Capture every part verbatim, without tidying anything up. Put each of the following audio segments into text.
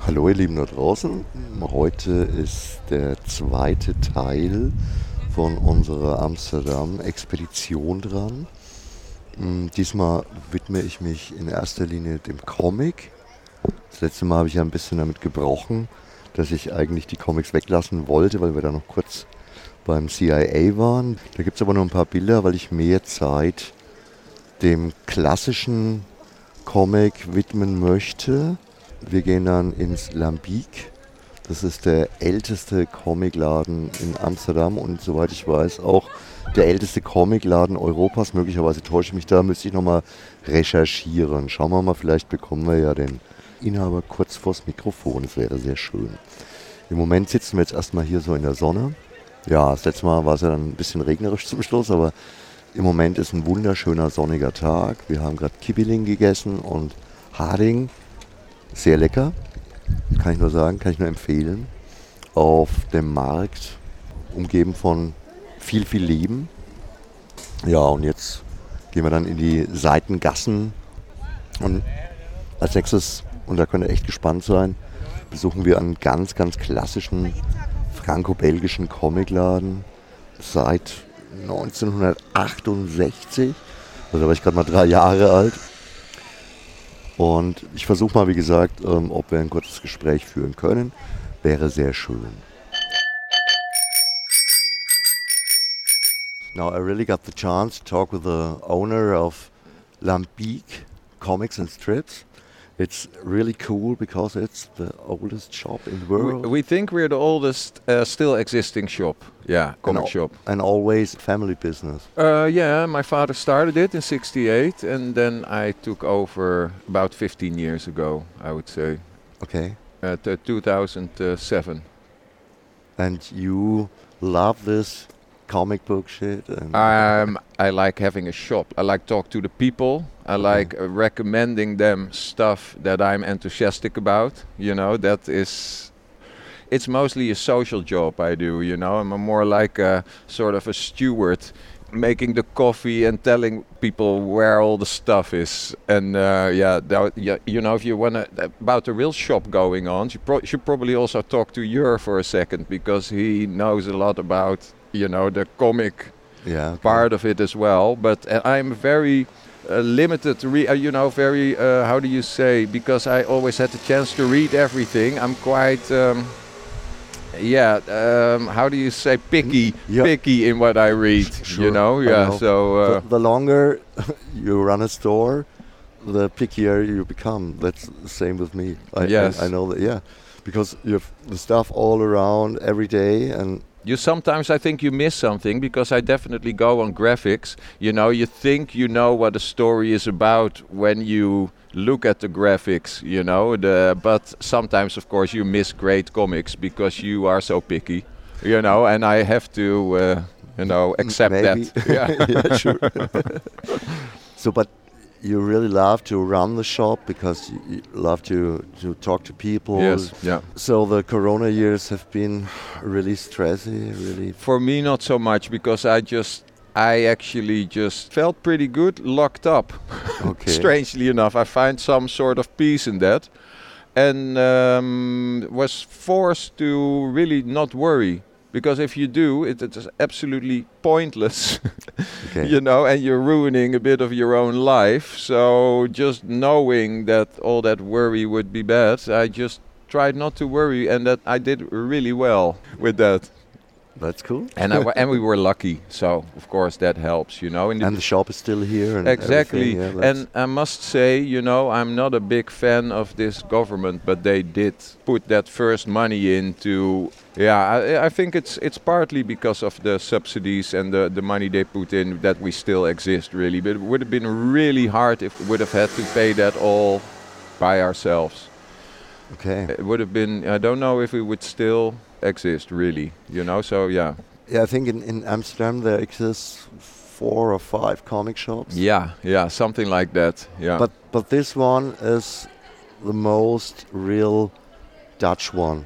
Hallo ihr Lieben da draußen, heute ist der zweite Teil von unserer Amsterdam-Expedition dran. Diesmal widme ich mich in erster Linie dem Comic. Das letzte Mal habe ich ja ein bisschen damit gebrochen, dass ich eigentlich die Comics weglassen wollte, weil wir da noch kurz beim C I A waren. Da gibt es aber noch ein paar Bilder, weil ich mehr Zeit dem klassischen Comic widmen möchte. Wir gehen dann ins Lambiek. Das ist der älteste Comicladen in Amsterdam und soweit ich weiß auch der älteste Comicladen Europas. Möglicherweise täusche ich mich da, müsste ich nochmal recherchieren. Schauen wir mal, vielleicht bekommen wir ja den Inhaber kurz vors Mikrofon. Das wäre sehr schön. Im Moment sitzen wir jetzt erstmal hier so in der Sonne. Ja, das letzte Mal war es ja dann ein bisschen regnerisch zum Schluss, aber im Moment ist ein wunderschöner sonniger Tag. Wir haben gerade Kibbeling gegessen und Harding. Sehr lecker, kann ich nur sagen, kann ich nur empfehlen. Auf dem Markt, umgeben von viel, viel Leben. Ja, und jetzt gehen wir dann in die Seitengassen. Und als nächstes, und da könnt ihr echt gespannt sein, besuchen wir einen ganz, ganz klassischen franco-belgischen Comicladen seit neunzehnhundertachtundsechzig. Also da war ich gerade mal drei Jahre alt. Und ich versuche mal, wie gesagt, ähm, ob wir ein kurzes Gespräch führen können. Wäre sehr schön. Now I really got the chance to talk with the owner of Lambiek Comics and Strips. It's really cool because it's the oldest shop in the world. We, we think we're the oldest uh, still existing shop. Yeah, comic and, shop. And always family business. Uh, yeah, my father started it in sixty-eight and then I took over about fifteen years ago, I would say. Okay. At uh, two thousand seven. And you love this comic book shit? And um, I like having a shop. I like talk to the people. I like uh, recommending them stuff that I'm enthusiastic about. You know, that is, it's mostly a social job I do, you know. I'm a more like a sort of a steward, making the coffee and telling people where all the stuff is. And uh, yeah, that, yeah, you know, if you want to, about the real shop going on, you pro- should probably also talk to Jur for a second, because he knows a lot about, you know, the comic yeah, okay. part of it as well. But uh, I'm very uh, limited to read, uh, you know, very, uh, how do you say, because I always had the chance to read everything. I'm quite, um, yeah, um, how do you say, picky, yeah. picky in what I read, sure, you know, yeah, know. so... Uh, the, the longer you run a store, the pickier you become. That's the same with me. I, yes. I, I know that, yeah, because you have the stuff all around every day, and you sometimes, I think you miss something, because I definitely go on graphics. You know, you think you know what a story is about when you look at the graphics, you know. The, but sometimes, of course, you miss great comics because you are so picky, you know, and I have to, uh, you know, accept Maybe. that. Yeah, yeah, sure. So, but you really love to run the shop because you, you love to, to talk to people. Yes, yeah. So the Corona years have been really stressy, really. For me, not so much, because I just, I actually just felt pretty good locked up. Okay. Strangely enough, I find some sort of peace in that, and um, was forced to really not worry. Because if you do, it, it is absolutely pointless, okay. you know, and you're ruining a bit of your own life. So just knowing that all that worry would be bad, I just tried not to worry, and that I did really well with that. That's cool. And I w- and we were lucky, so of course that helps, you know. And the, and the shop is still here. And exactly. Yeah, and I must say, you know, I'm not a big fan of this government, but they did put that first money into. Yeah, I, I think it's it's partly because of the subsidies and the, the money they put in that we still exist, really. But it would have been really hard if we would have had to pay that all by ourselves. Okay. It would have been, I don't know if we would still exist, really, you know, so yeah. Yeah, I think in, in Amsterdam there exists four or five comic shops. Yeah, yeah, something like that, yeah. But but this one is the most real Dutch one.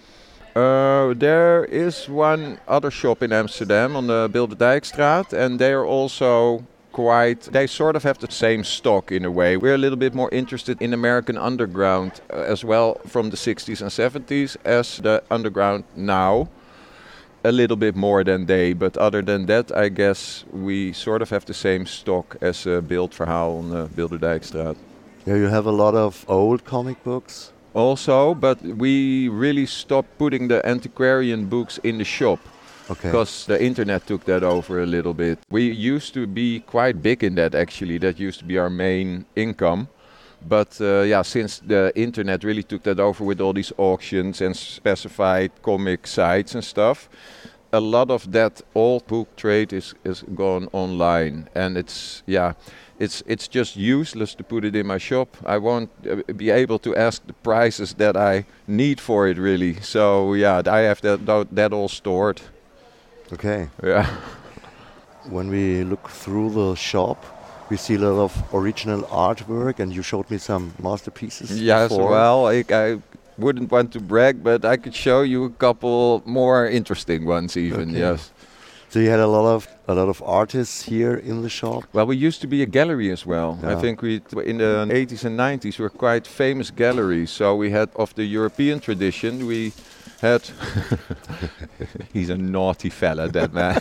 Uh, there is one other shop in Amsterdam on the Bilderdijkstraat, and they are also quite, they sort of have the same stock in a way. We're a little bit more interested in American underground uh, as well from the sixties and seventies as the underground now. A little bit more than they, but other than that, I guess we sort of have the same stock as uh, Beeldverhaal on the Bilderdijkstraat. Yeah, you have a lot of old comic books. Also, but we really stopped putting the antiquarian books in the shop. Okay. Because the internet took that over a little bit. We used to be quite big in that actually. That used to be our main income. But uh, yeah, since the internet really took that over with all these auctions and specified comic sites and stuff, a lot of that old book trade is, is gone online. And it's, yeah, it's it's just useless to put it in my shop. I won't uh, be able to ask the prices that I need for it really. So yeah, I have that, that all stored. Okay. Yeah. When we look through the shop, we see a lot of original artwork, and you showed me some masterpieces. Yes, before. well, I, I wouldn't want to brag, but I could show you a couple more interesting ones even, Okay. yes. So you had a lot of a lot of artists here in the shop. Well, we used to be a gallery as well. Yeah. I think we, in the eighties and nineties, we were quite famous galleries. So we had, of the European tradition, we had... He's a naughty fella, that man.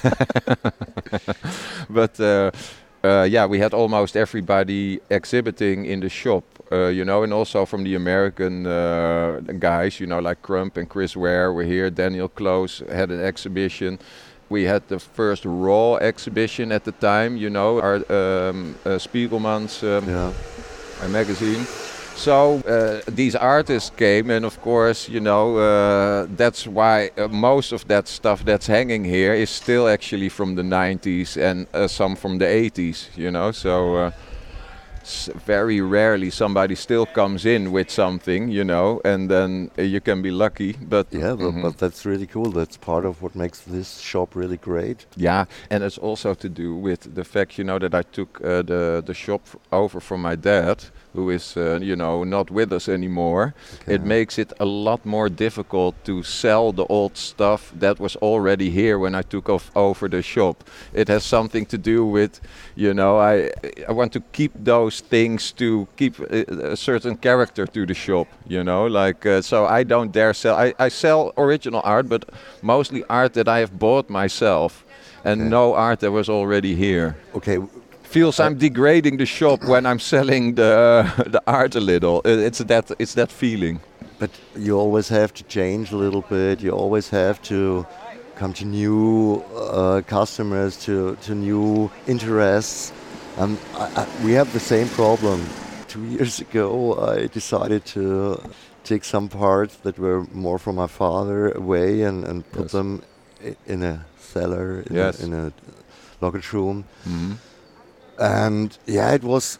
But... Uh, Uh, yeah, we had almost everybody exhibiting in the shop, uh, you know, and also from the American uh, guys, you know, like Crump and Chris Ware were here. Daniel Close had an exhibition. We had the first Raw exhibition at the time, you know, our um, uh, Spiegelman's um, Yeah. uh, magazine. So uh, these artists came, and of course, you know, uh, that's why uh, most of that stuff that's hanging here is still actually from the nineties and uh, some from the eighties, you know. So uh, s- very rarely somebody still comes in with something, you know, and then uh, you can be lucky. But Yeah, but, Mhm. but that's really cool. That's part of what makes this shop really great. Yeah, and it's also to do with the fact, you know, that I took uh, the the shop f- over from my dad, who is, uh, you know, not with us anymore. Okay. It makes it a lot more difficult to sell the old stuff that was already here when I took off over the shop. It has something to do with, you know, I I want to keep those things to keep a, a certain character to the shop, you know, like uh, so I don't dare sell. I, I sell original art, but mostly art that I have bought myself, and Okay. no art that was already here. Okay, Feels I'm degrading the shop when I'm selling the the art a little. Uh, It's that it's that feeling. but you always have to change a little bit. You always have to come to new uh, customers, to, to new interests. Um, I, I, we have the same problem. Two years ago, I decided to take some parts that were more from my father away and, and put Yes. them i- in a cellar, in, Yes. a, in a luggage room. Mhm. And yeah, it was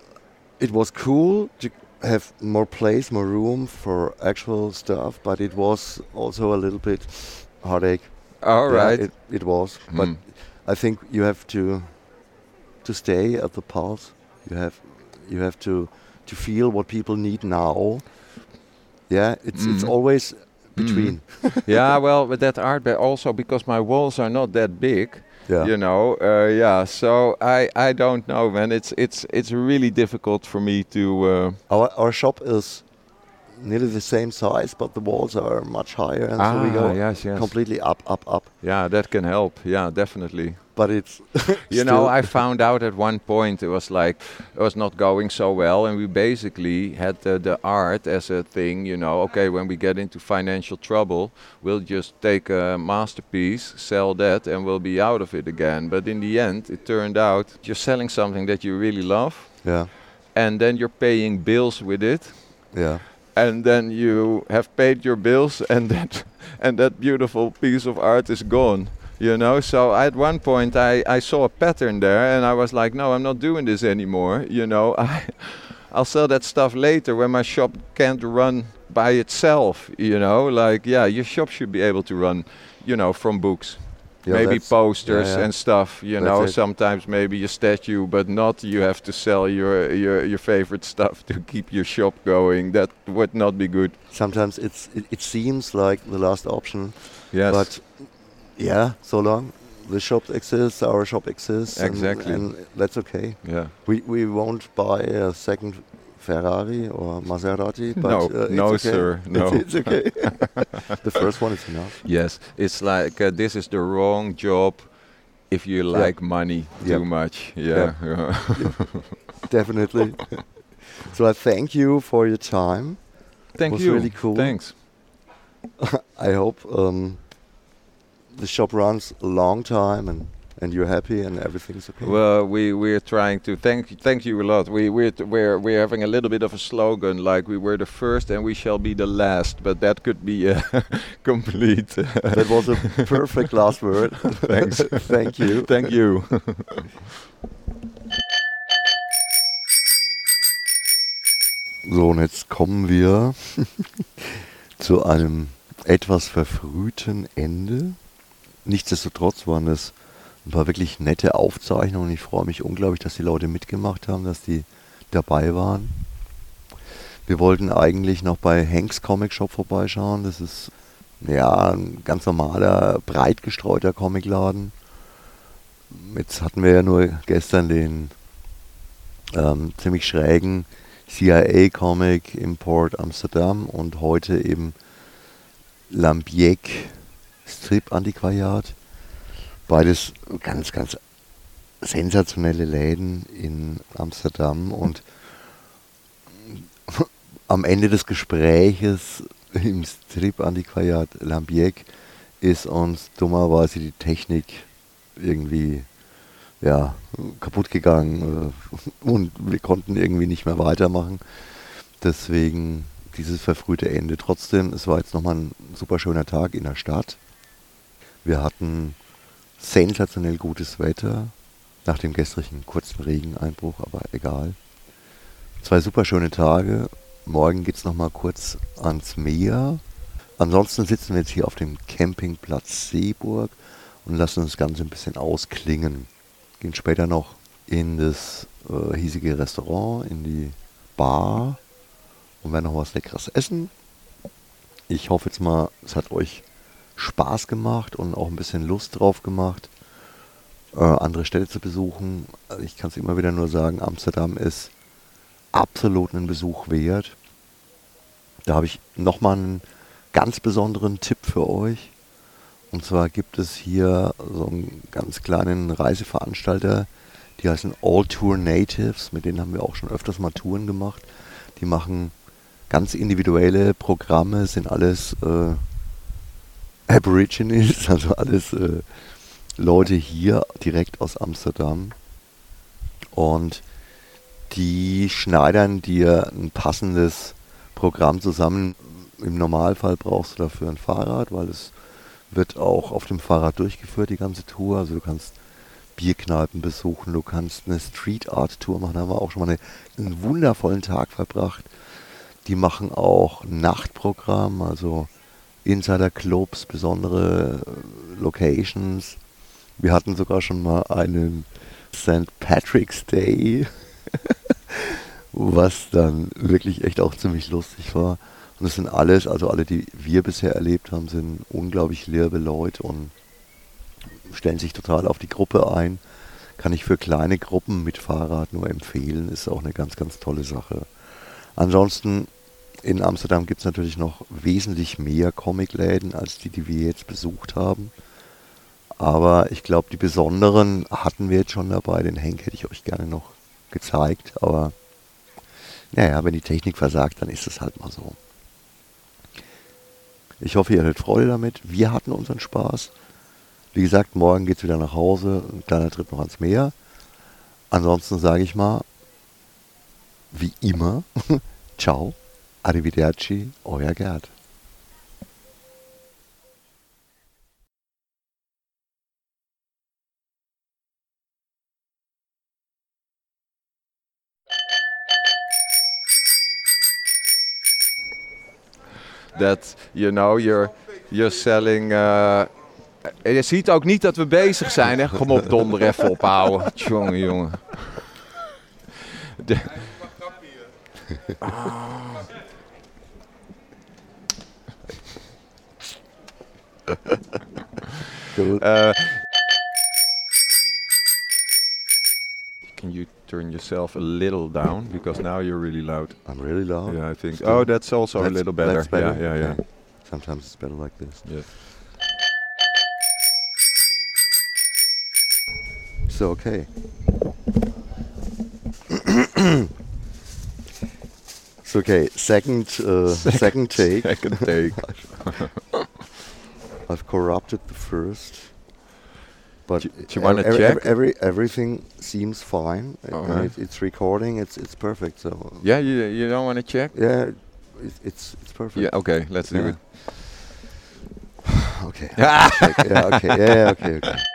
it was cool to have more place, more room for actual stuff, but it was also a little bit heartache. All Yeah, right. it, it was. But Mm. I think you have to to stay at the pulse. You have you have to to feel what people need now. Yeah, it's it's Mhm. always between. Yeah, well, with that art, but also because my walls are not that big. Yeah. You know, uh, yeah. So I, I don't know, man. It's it's it's really difficult for me to. Uh, Our our shop is nearly the same size, but the walls are much higher, and so we Ah, go yes, yes. completely up, up, up. yeah, that can help. Yeah, definitely. But it's You know, I found out at one point it was like it was not going so well, and we basically had the, the art as a thing. You know, okay, when we get into financial trouble, we'll just take a masterpiece, sell that, and we'll be out of it again. But in the end, it turned out you're selling something that you really love, yeah, and then you're paying bills with it, yeah, and then you have paid your bills, and that and that beautiful piece of art is gone. You know, so at one point I, I saw a pattern there, and I was like, no, I'm not doing this anymore. You know, I, I'll sell that stuff later when my shop can't run by itself. You know, like, yeah, your shop should be able to run, you know, from books. yeah. maybe that's- posters yeah, yeah. and stuff, you That's know, it. sometimes maybe a statue, but not you have to sell your, your, your favorite stuff to keep your shop going. That would not be good. Sometimes it's it, it seems like the last option, Yes. but yeah, so long the shop exists, our shop exists, and- Exactly. and, that's okay. Yeah. We we won't buy a second Ferrari or Maserati, but No, uh, it's no, okay. sir, no. It's, it's okay. The first one is enough. Yes, it's like uh, this is the wrong job if you Yeah. like money Yep. too much. Yeah. Definitely. So I thank you for your time. Thank Was you. really cool. Thanks. I hope um, the shop runs a long time and, and you're happy and everything's okay. Well, we we're trying to thank thank you a lot. We we're t- we're we're having a little bit of a slogan like we were the first and we shall be the last, but that could be uh, complete. That was a perfect last word. Thanks. Thank you. Thank you. So, und jetzt kommen wir zu einem etwas verfrühten Ende. Nichtsdestotrotz waren es ein paar wirklich nette Aufzeichnungen. Ich freue mich unglaublich, dass die Leute mitgemacht haben, dass die dabei waren. Wir wollten eigentlich noch bei Hanks Comic Shop vorbeischauen. Das ist ja ein ganz normaler, breit gestreuter Comicladen. Jetzt hatten wir ja nur gestern den ähm, ziemlich schrägen C I A-Comic im Port Amsterdam und heute eben Lambiek Strip-Antiquariat. Beides ganz, ganz sensationelle Läden in Amsterdam und am Ende des Gespräches im Strip-Antiquariat Lambiek ist uns dummerweise die Technik irgendwie ja, kaputt gegangen äh, und wir konnten irgendwie nicht mehr weitermachen. Deswegen dieses verfrühte Ende. Trotzdem, es war jetzt nochmal ein super schöner Tag in der Stadt. Wir hatten sensationell gutes Wetter, nach dem gestrigen kurzen Regeneinbruch, aber egal. Zwei super schöne Tage. Morgen geht es nochmal kurz ans Meer. Ansonsten sitzen wir jetzt hier auf dem Campingplatz Seeburg und lassen das Ganze ein bisschen ausklingen. Gehen später noch in das äh, hiesige Restaurant, in die Bar und werden noch was Leckeres essen. Ich hoffe jetzt mal, es hat euch Spaß gemacht und auch ein bisschen Lust drauf gemacht, äh, andere Städte zu besuchen. Also ich kann es immer wieder nur sagen, Amsterdam ist absolut einen Besuch wert. Da habe ich nochmal einen ganz besonderen Tipp für euch. Und zwar gibt es hier so einen ganz kleinen Reiseveranstalter, die heißen All Tour Natives, mit denen haben wir auch schon öfters mal Touren gemacht. Die machen ganz individuelle Programme, sind alles äh, Aborigines, also alles äh, Leute hier direkt aus Amsterdam. Und die schneidern dir ein passendes Programm zusammen. Im Normalfall brauchst du dafür ein Fahrrad, weil es wird auch auf dem Fahrrad durchgeführt, die ganze Tour. Also du kannst Bierkneipen besuchen, du kannst eine Street Art Tour machen. Da haben wir auch schon mal eine, einen wundervollen Tag verbracht. Die machen auch Nachtprogramm, also Insider-Clubs, besondere Locations. Wir hatten sogar schon mal einen Sankt Patrick's Day, was dann wirklich echt auch ziemlich lustig war. Und das sind alles, also alle, die wir bisher erlebt haben, sind unglaublich liebe Leute und stellen sich total auf die Gruppe ein. Kann ich für kleine Gruppen mit Fahrrad nur empfehlen, ist auch eine ganz, ganz tolle Sache. Ansonsten in Amsterdam gibt es natürlich noch wesentlich mehr Comicläden als die, die wir jetzt besucht haben. Aber ich glaube, die besonderen hatten wir jetzt schon dabei. Den Henk hätte ich euch gerne noch gezeigt. Aber naja, wenn die Technik versagt, dann ist es halt mal so. Ich hoffe, ihr hattet Freude damit. Wir hatten unseren Spaß. Wie gesagt, morgen geht es wieder nach Hause. Ein kleiner Trip noch ans Meer. Ansonsten sage ich mal, wie immer, ciao, arrivederci, euer Gerd. That, you know, you're, you're selling... Uh, je ziet ook niet dat we bezig zijn, hè? Kom op, donder even ophouden. Tjonge, jongen. De... Oh. Cool. Uh, turn yourself a little down because now you're really loud. I'm really loud. Yeah, I think. Still? Oh, that's also That's- a little better. that's better? Yeah, yeah, Okay. Sometimes it's better like this. yeah. So, okay. So, okay, second, uh, second take. Second take. I've corrupted the first. But Do you- do you wanna every, check? Every, every, everything seems fine. Uh, All and right. it, it's recording, it's it's perfect. So, Yeah, you you don't want to check? yeah, it, it's it's perfect. Yeah. Okay, let's do Yeah. it. Okay. I'll check. Yeah, okay. Yeah, yeah, okay, okay.